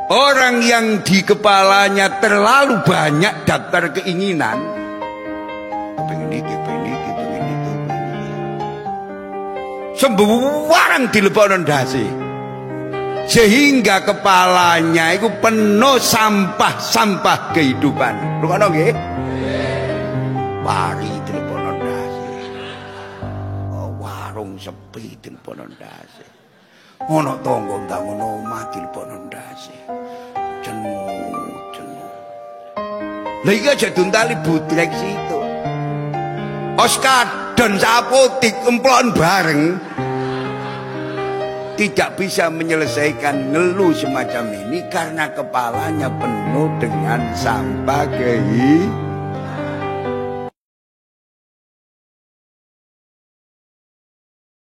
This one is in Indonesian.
Orang yang di kepalanya terlalu banyak daftar keinginan, pengen iki, sembarang dilebokno ndase, sehingga kepalanya itu penuh sampah-sampah kehidupan. Rungokno nggih? Pari dilebokno ndase, warung sepi dilebokno ndase, ono tangga bangun omah dilebokno ndase. Jenuh. Lah iki aja duntali budrek situ. Oskadon sapotik emplon bareng tidak bisa menyelesaikan ngeluh semacam ini karena kepalanya penuh dengan sampah kehidupan.